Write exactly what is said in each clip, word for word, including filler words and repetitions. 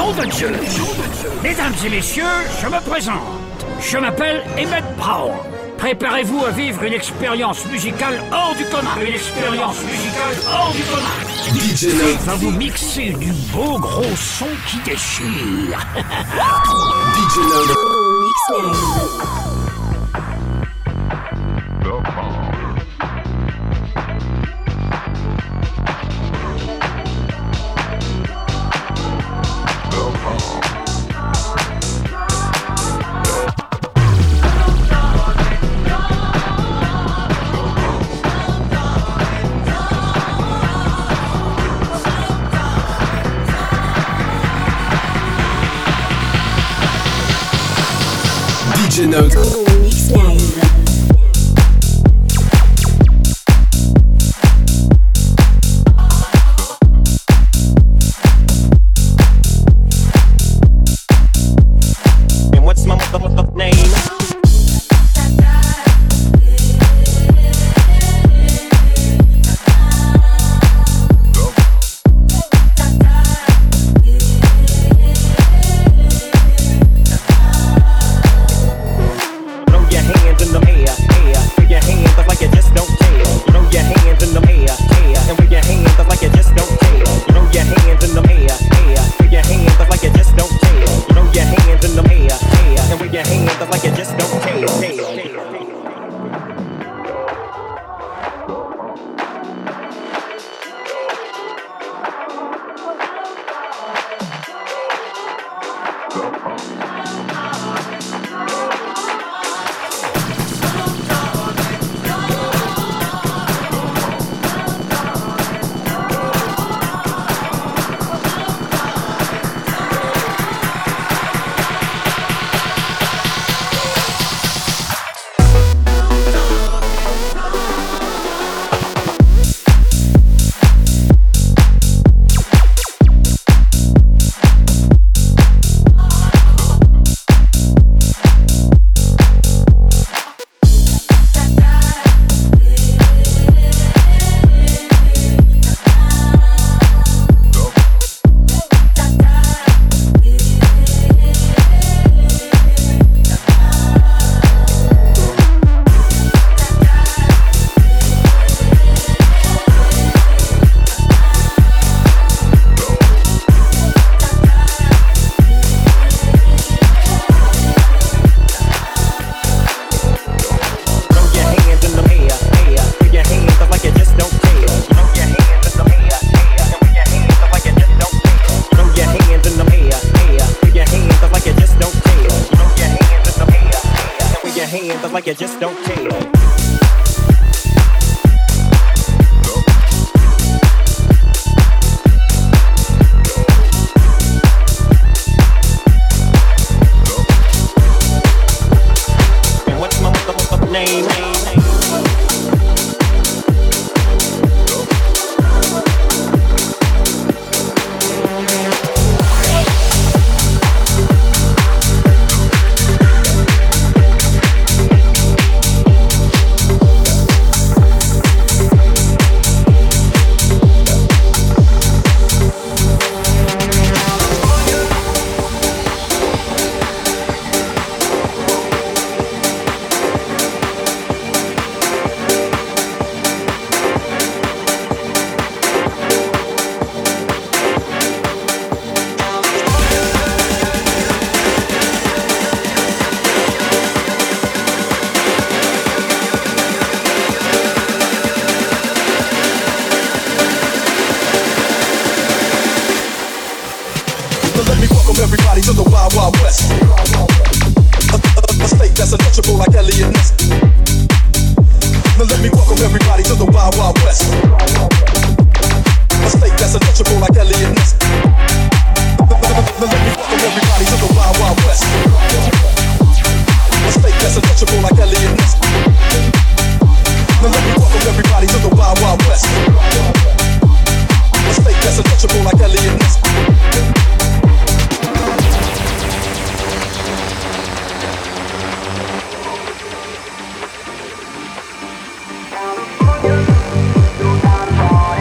Nom de Dieu! Mesdames et messieurs, je me présente. Je m'appelle Emmett Brown. Préparez-vous à vivre une expérience musicale hors du commun. Une expérience musicale hors du commun. D J Node va vous mixer du beau gros son qui déchire. D J Node D J Node Mix Live. And what's my motherfucking name? Like you just don't care. Everybody to the Wild Wild West. A, a, a state that's untouchable like Elliot Ness. Now let me welcome everybody to the Wild Wild West. A state that's untouchable like Elliot Ness. Now let me welcome everybody to the Wild Wild West. A state that's untouchable like Elliot Ness. Now let me welcome everybody to the Wild Wild West. A state that's untouchable like Elliot Ness. You're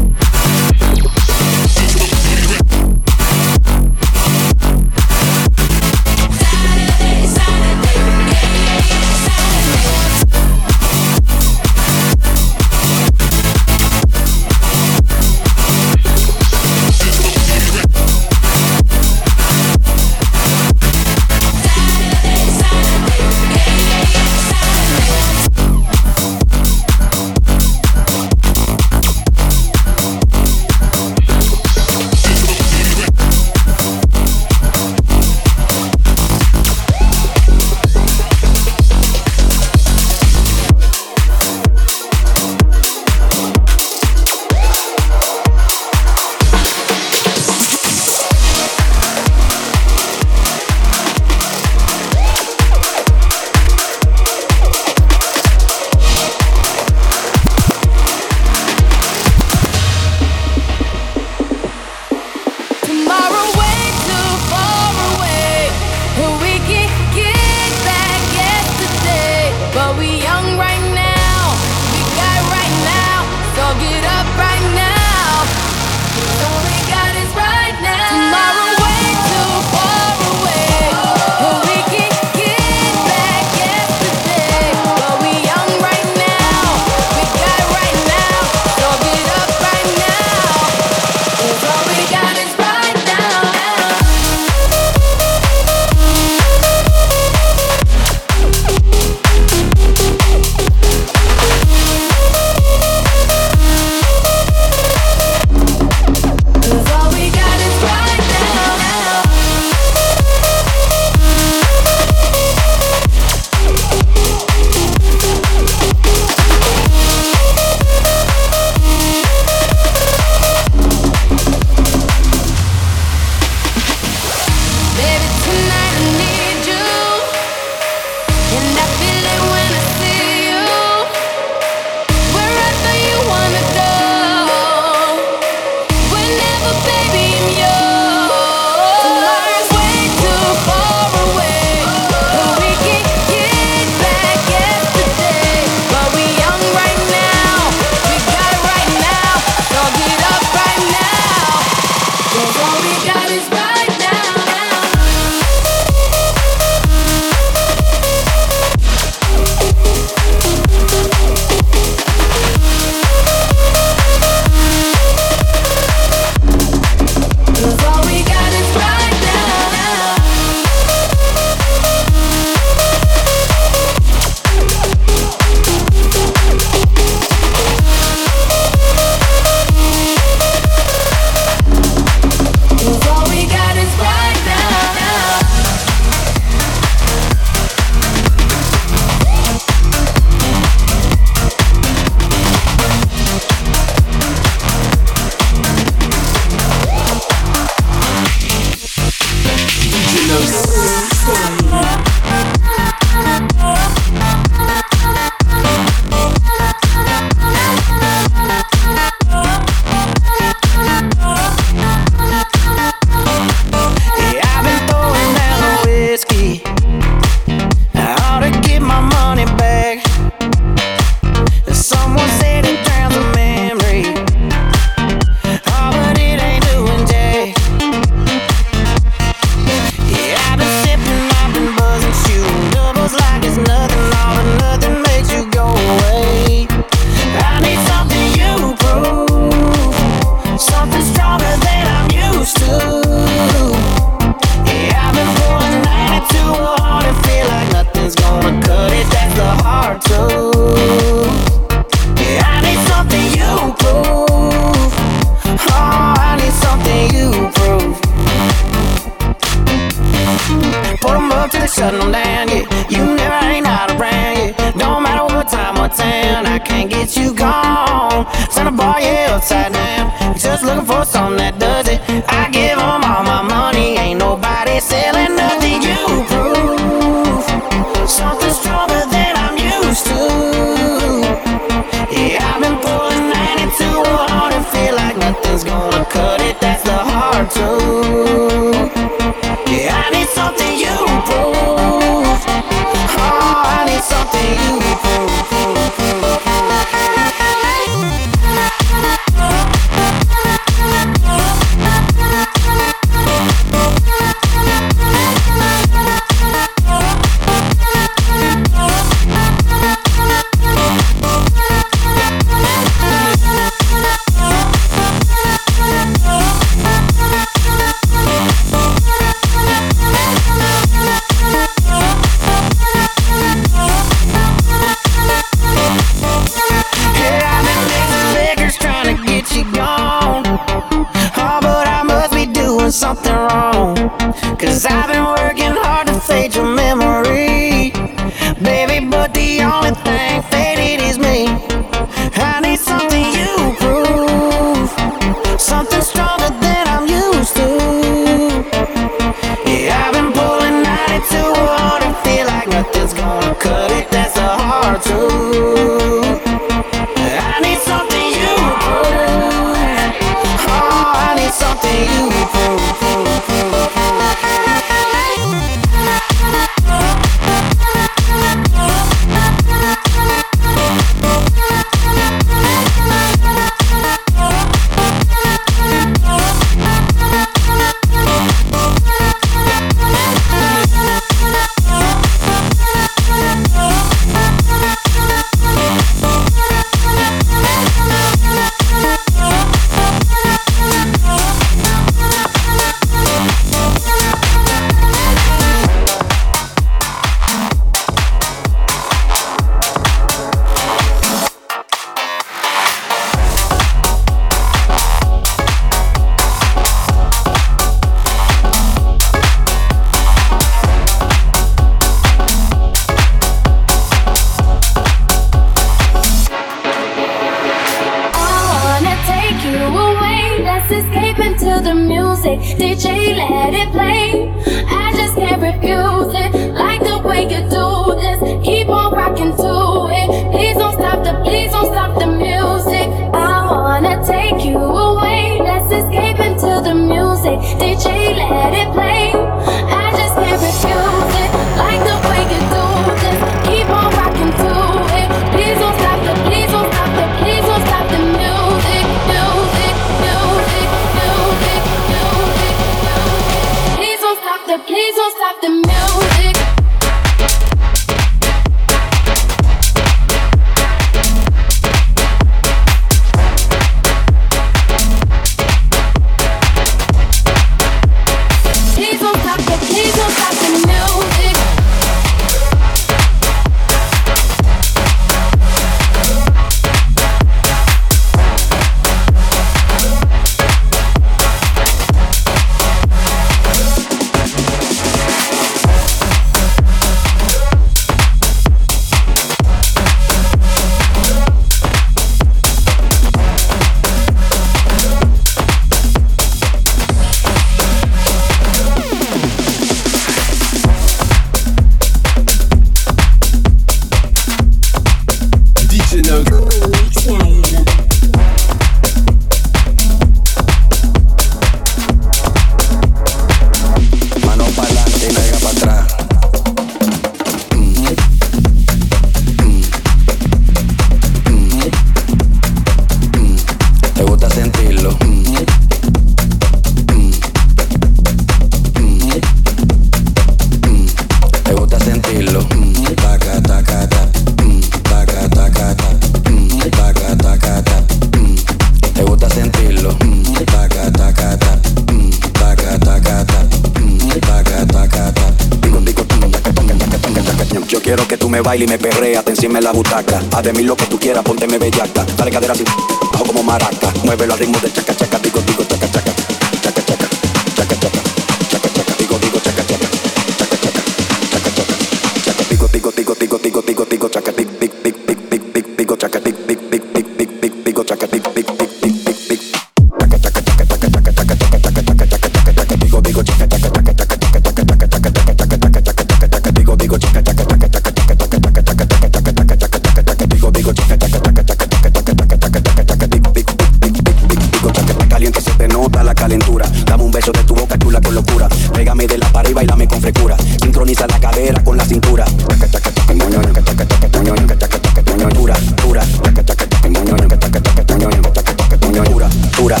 quiero que tú me bailes y me perreas, te encima en la butaca. Haz de mí lo que tú quieras, pónteme bellaca. Dale cadera así, bajo como maraca. Muévelo al ritmo del chaca chaca, digo digo chaca chaca, chaca chaca, chaca chaca, chaca chaca, digo digo chaca chaca, chaca chaca, chaca chaca, chaca digo digo digo digo digo digo digo chaca tic tic tic tic tic tic digo chaca tic tic tic tic tic tic digo chaca tic tic tic tic tic tic chaca chaca chaca chaca chaca chaca chaca chaca chaca chaca chaca digo digo chaca chaca chaca chaca chaca chaca chaca chaca chaca chaca chaca digo digo chaca chaca chaca chaca chaca chaca chaca chaca chaca chaca chaca chaca digo digo chaca chaca chaca chaca chaca chaca chaca chaca chaca tic tic tic tic tic digo chaca está caliente, se te nota la calentura. Dame un beso de tu boca chula con locura. Pégame de la pared y bailame con frescura. Sincroniza la cadera con la cintura. Chaca chaca chaca moño chaca chaca chaca moño chaca chaca chaca moño dura dura chaca chaca chaca moño chaca chaca chaca moño chaca chaca moño dura dura.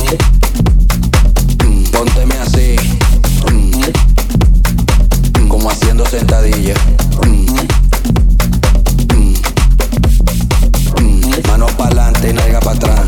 Pónteme así, como haciendo sentadilla. Manos pa'lante, nalga pa' atrás.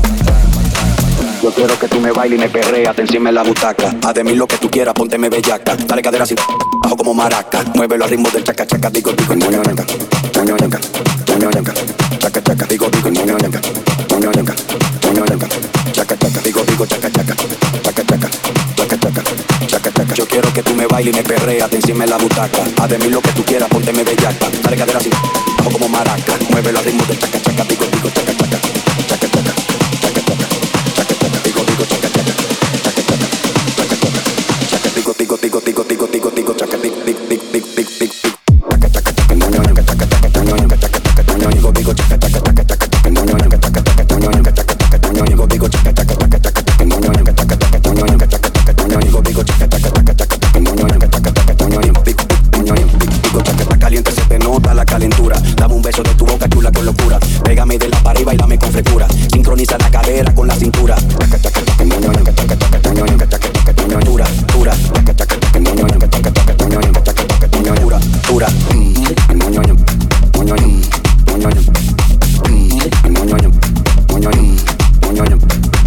Yo quiero que tú me bailes y me perreas, te encima en la butaca. Haz de mí lo que tú quieras, pónteme bellaca. Dale cadera así, bajo como maraca. Muévelo al ritmo del chaca chaca, digo digo moño ñanca, moño ñanca, moño ñanca, chaca chaca, digo digo moño ñanca, moño ñanca, moño ñanca, chaca chaca, digo digo chaca chaca, chaca chaca, chaca chaca, chaca chaca. Yo quiero que tú me bailes y me perreas, te encima en la butaca. Haz de mí lo que tú quieras, pónteme bellaca. Dale cadera así, bajo como maraca. Muévelo al ritmo del chaca chaca, digo digo chaca chaca, chaca chaca, chaca chaca, chaca chaca, digo digo chaca chaca, chaca chaca, chaca chaca, chaca digo digo digo digo digo digo digo chaca tic tic tic tic tic tic tic chaca chaca chaca moño ñanca chaca chaca moño ñanca chaca chaca moño digo digo chaca chaca chaca chaca moño ñanca chaca chaca moño ñanca chaca chaca moño digo digo chaca chaca chaca chaca moño ñanca chaca chaca moño ñanca chaca chaca moño digo digo chaca chaca chaca chaca moño ñanca chaca chaca moño ñanca tic moño ñanca digo chaca está caliente, se te nota la calentura. Dame un beso de tu boca chula con locura. Pégame de la pared y bailame con frescura. Sincroniza la cadera con la cintura. Chaca chaca chaca moño ñanca chaca chaca moño ñanca chaca chaca moño dura dura chaca chaca chaca moño ñanca chaca chaca moño ñanca chaca chaca moño dura dura moño ñanca moño ñanca moño ñanca moño ñanca moño ñanca moño ñanca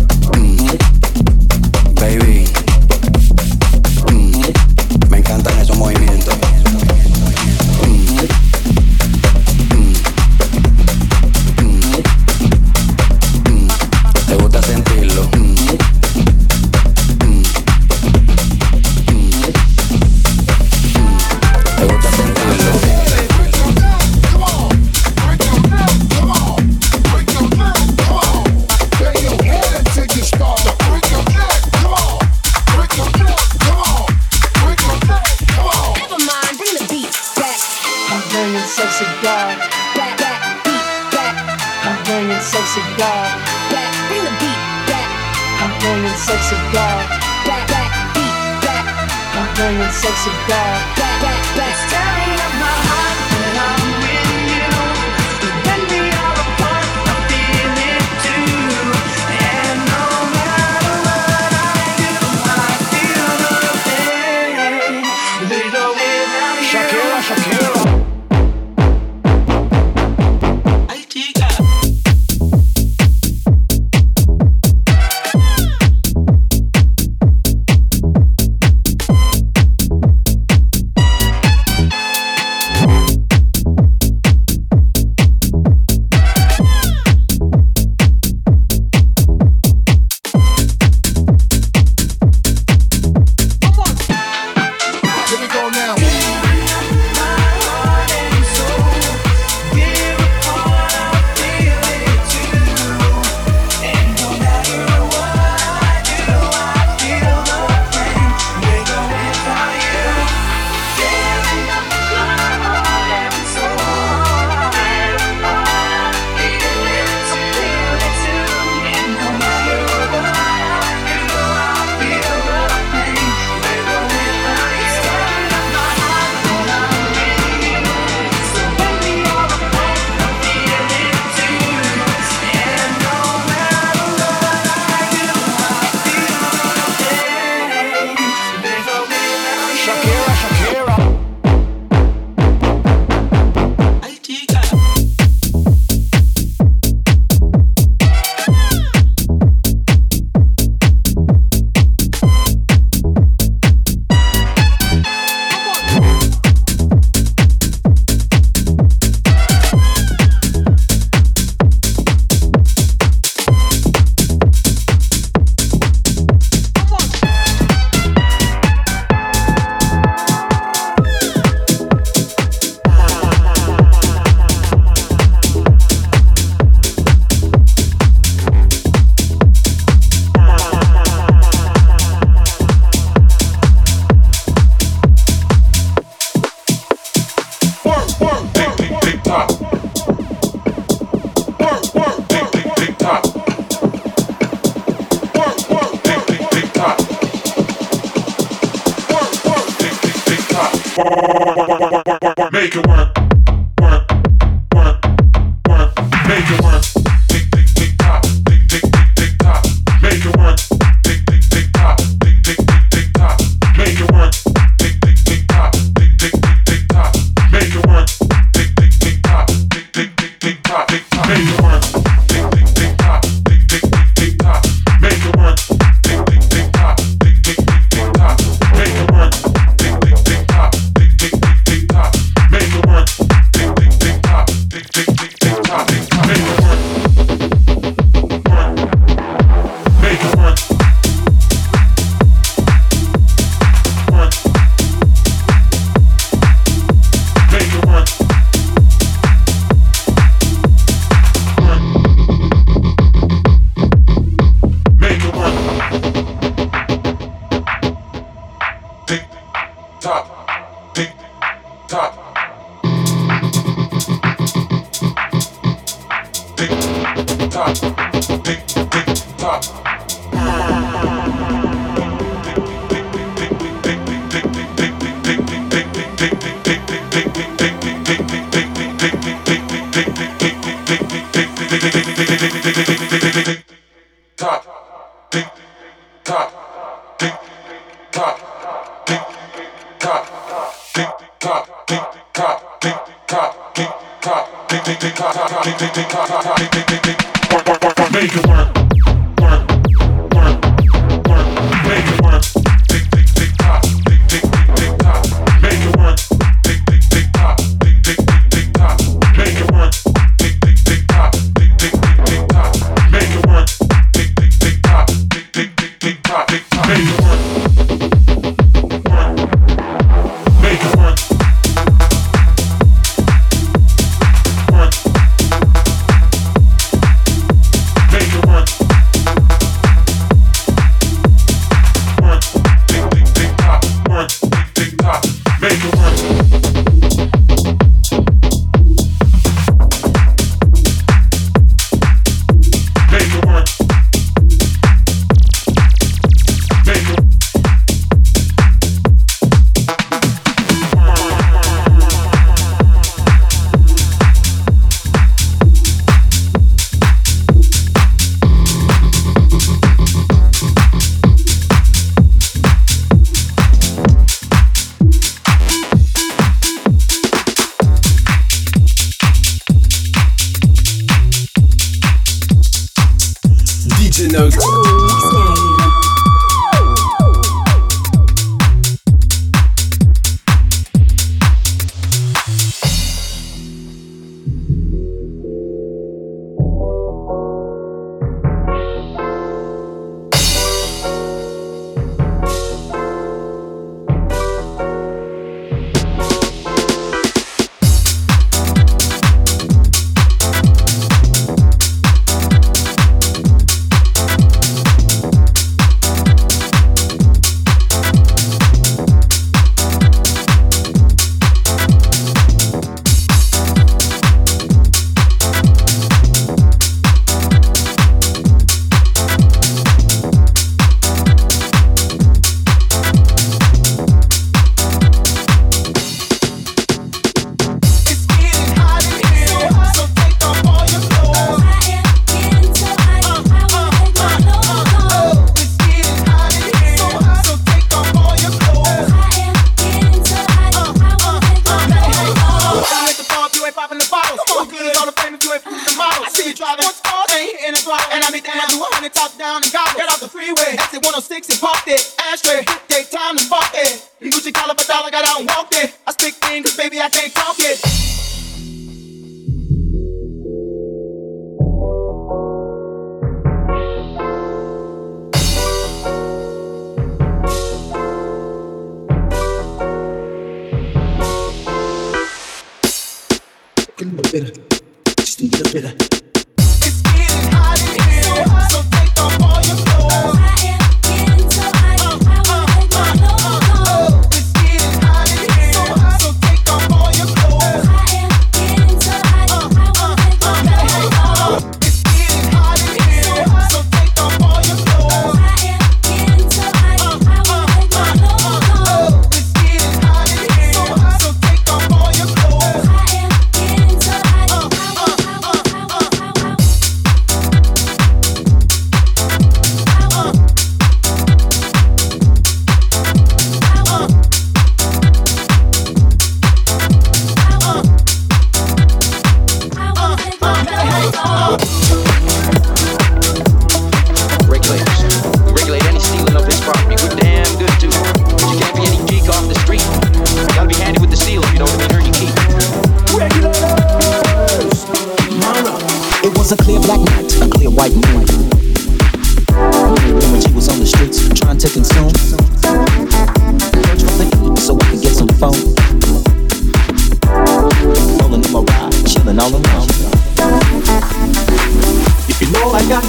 baby, me encantan esos movimientos. ¿Te gusta sentirlo? ¿Te gusta sentirlo? Sexy girl, back, back, beat, back. I'm bringing sexy girl, back, bring the beat back. I'm bringing sexy girl, back, back, beat back. I'm bringing sexy girl, back, back, back. It's tearing up my heart when I'm with you. When we are apart, I feel it too. And no matter what I do, I feel the pain. There's no without you. Shakira, Shakira. Make it work, work, work, work. Make it work. Tick, tick, tick, tock. Tick, tick, tick, tick, tock. Make it work. Tick, tick, tick, tock. Tick, tick, tick, tick, tock. Make it work. Tick, tick, tick, tock. Tick, tick, tick, tick, tock. Make it work. Tick, tick, tick, tock. Tick, tick, tick, tick, tock. Make it work. Tick, tick, tick, tock. Tick, tick, tick, tick, tock. Make it work. Tick, tick, tick, tock. Tick, tick, tick, tick, tock. Make it work. Tick, tick, tick, tock. Tick, tick, tick, tick, tock. Make it work. Tick, tick, tick, tock. Tick, tick, tick, tick, tock. Make it work. Work. Make it work. Work. Make it work. Work. Make it work. Tick, tock, tick, tock. Tick, tock, tick, tick, tock. Top, tick, top, tick, top, tick, top, tick, top, tick, top, tick, top, tick, top, tick, tick, tick, top, tick, tick, tick, top, tick, tick, tick, tick. Make it work, work, work, work. Make it work. Tick, tick, tick, top, tick, tick, tick, tick, top. Make it work. Tick, tick, tick, top, tick, tick, tick, tick, top. Make it work. Tick, tick, tick, top, tick, tick, tick, tick, top. Make it work. Tick, tick, tick, top, tick, tick, tick, tick, top. Make it work. Work. Make it work. Work. Make it work. Work. Tick, tick, tick, top. Work. Tick, tick, top. Make it work. Make it work. Make it D J Note. So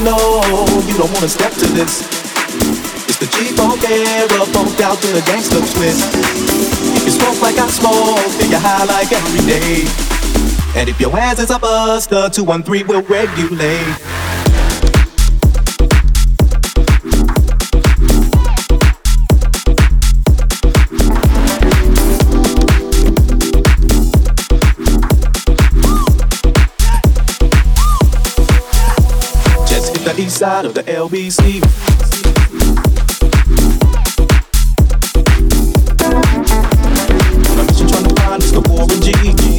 know you don't wanna step to this. It's the G-Funk era, funked out to the gangster twist. If you smoke like I smoke, then you high like every day. And if your ass is a buster, two one three will regulate. Just hit the east side of the L B C. My mission trying to find is the Warren G.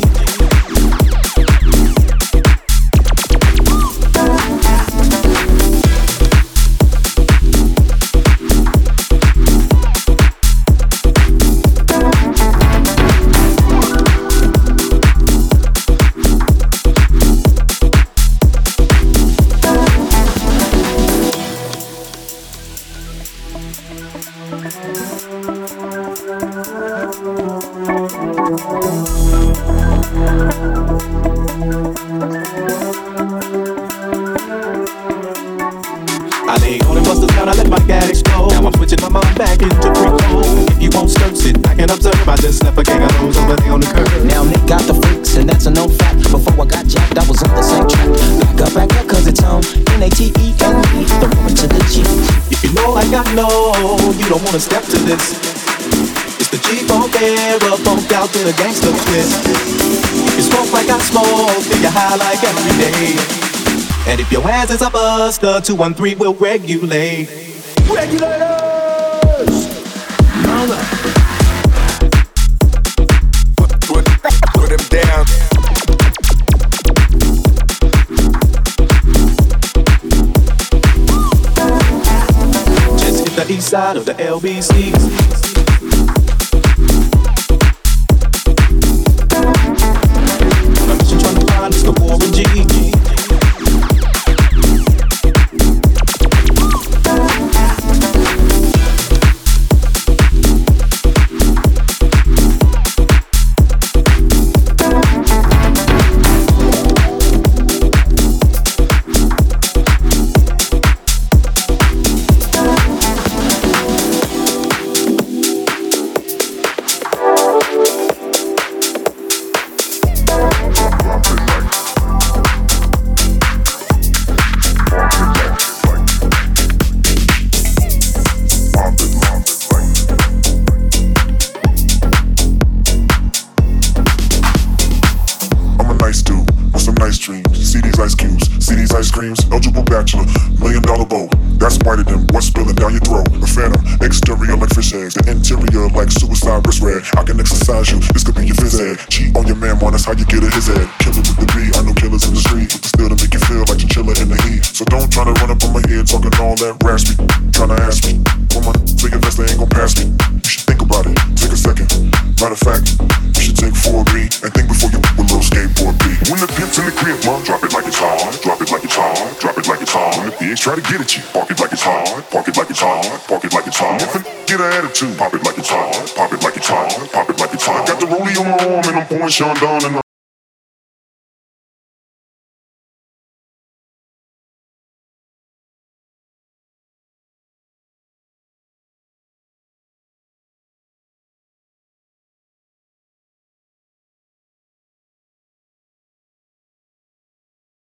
I lay on and bust the down, I let my gat explode. Now I'm switching my mind back into free flow. If you won't skirt, sit back and observe. I just left a gang of those over there on the curb. Now Nick got the freaks, and that's a known fact. Before I got jacked, I was on the same track. Back up, back up, cause it's on N A T E N E, the woman to the G. If you know like I know, you don't wanna step to this. It's the G-Funk era, funked out to the gangster twist. If you smoke like I smoke, then you high like every day. And if your ass is a buster, two one three will regulate. Regulators! Mother. Put, put, put him down. Just hit the east side of the L B C. My mission trying to find is the Warren G. Eligible bachelor, million dollar bow. That's whiter than what's spilling down your throat. A phantom, exterior like fish eggs, the interior like suicide wrist red. I can exercise you, this could be your phys ed. Cheat on your man, man, that's how you get a his head. Killer with the B, I know killers in the street, with the steel to make you feel like you're chiller in the heat. So don't try to run up on my head, talking all that raspy. Tryna ask me, when my say your best, they ain't gon' pass me. You should think about it, take a second. Matter of fact, you should take four B and think before you put a little skateboard B. When the pimp's in the crib, mom, drop it like it's hard, drop it like it's hard, drop it like it's hard. When the pigs try to get at you, park it like it's hard, park it like it's hard, park it like it's hard. If it get an attitude, pop it like it's hard, pop it like it's hard, pop it like it's hard. Got the rollie on my arm and I'm pouring Sean Don and